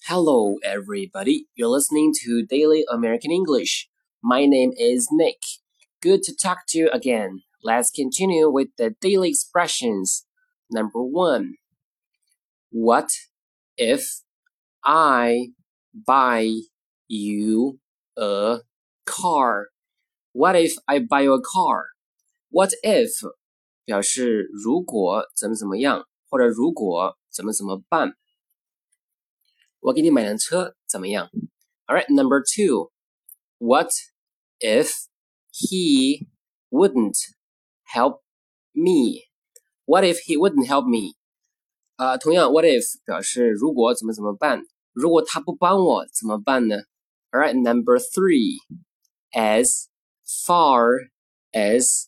Hello, everybody. You're listening to Daily American English. My name is Nick. Good to talk to you again. Let's continue with the daily expressions. Number 1. What if I buy you a car? What if I buy you a car? What if 表示如果怎么怎么样，或者如果怎么怎么办。我给你买辆车怎么样 Alright, number 2. What if he wouldn't help me? What if he wouldn't help me? 同样 what if 表示如果怎么怎么办，如果他不帮我怎么办呢 Alright, number 3. As far as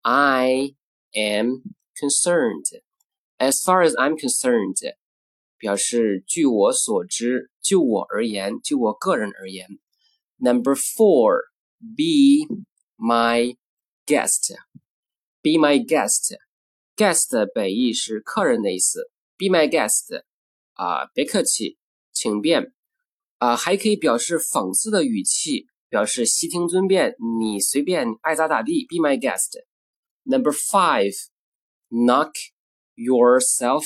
I am concerned. As far as I'm concerned.表示据我所知，就我而言，就我个人而言。Number 4, be my guest. Be my guest. Guest 本意是客人的意思。Be my guest. 别客气，请便。还可以表示讽刺的语气，表示悉听尊便，你随便爱咋咋地。Be my guest. Number 5, knock yourself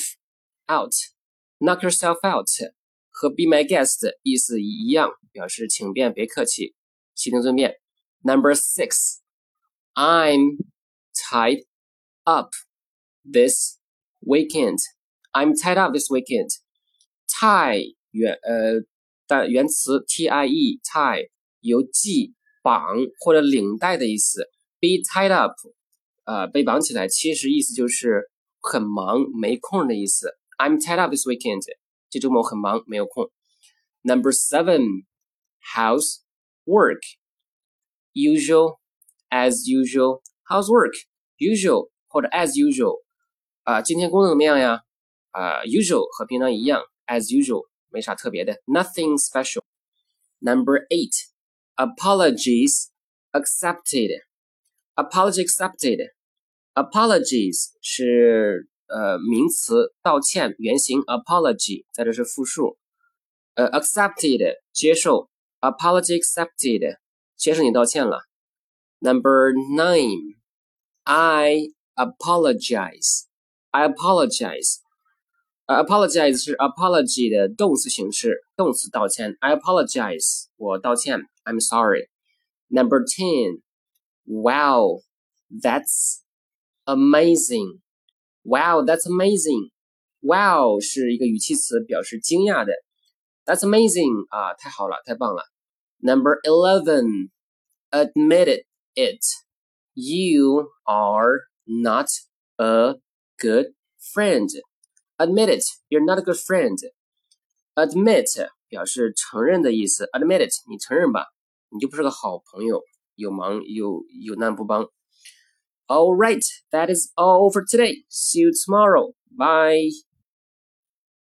out.Knock yourself out 和 be my guest 意思一样，表示请便别客气，悉听尊便。Number 6, I'm tied up this weekend. I'm tied up this weekend. Tie 原词 tie tie 有系绑或者领带的意思。Be tied up 被绑起来，其实意思就是很忙没空的意思。I'm tied up this weekend. 这周末很忙，没有空。Number 7, housework. Usual, as usual. Housework, usual 或者 as usual. 今天工作怎么样呀？usual 和平常一样 as usual 没啥特别的 nothing special. Number 8, apologies accepted. Apology accepted. Apologies 是名词道歉原型 apology 在这是复数accepted 接受 apology accepted 接受你道歉了 Number 9 I apologize apologize 是 apology 的动词形式动词道歉 I apologize 我道歉 I'm sorry Number 10 Wow that's amazing Wow, that's amazing. Wow 是一个语气词，表示惊讶的。That's amazing 太好了，太棒了。Number 11, admit it. You are not a good friend. Admit it, you're not a good friend. Admit 表示承认的意思。Admit it, 你承认吧，你就不是个好朋友，有忙有难不帮。All right, that is all for today. See you tomorrow. Bye.